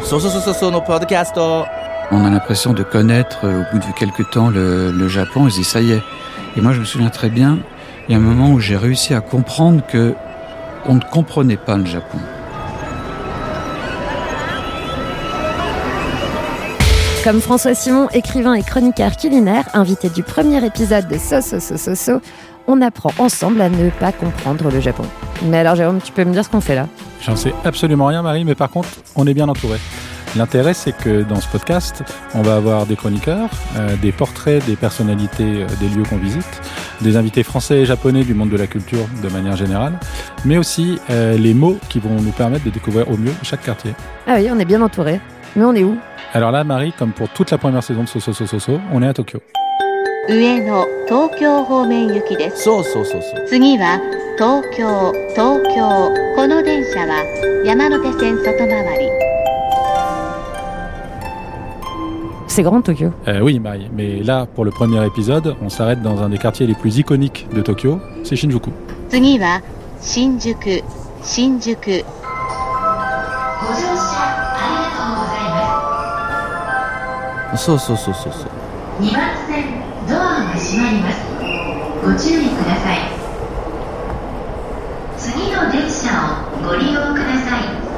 On a l'impression de connaître au bout de quelques temps le Japon, et se dit ça y est. Et moi je me souviens très bien, il y a un moment où j'ai réussi à comprendre que on ne comprenait pas le Japon. Comme François Simon, écrivain et chroniqueur culinaire, invité du premier épisode de So, on apprend ensemble à ne pas comprendre le Japon. Mais alors Jérôme, tu peux me dire ce qu'on fait là ? J'en sais absolument rien Marie, mais par contre, on est bien entouré. L'intérêt, c'est que dans ce podcast, on va avoir des chroniqueurs, des portraits des personnalités des lieux qu'on visite, des invités français et japonais du monde de la culture de manière générale, mais aussi les mots qui vont nous permettre de découvrir au mieux chaque quartier. Ah oui, on est bien entouré. Mais on est où ? Alors là, Marie, comme pour toute la première saison de So, on est à Tokyo. 上野東京方面行きです。 そう。 次は東京。この電車は山手線外回り。 C'est grand Tokyo. Oui, Marie, mais là, pour le premier épisode, on s'arrête dans un des quartiers les plus iconiques de Tokyo, c'est Shinjuku. 次は新宿。 そう。 2番線ドアが閉まります。ご注意ください。次の電車をご利用ください。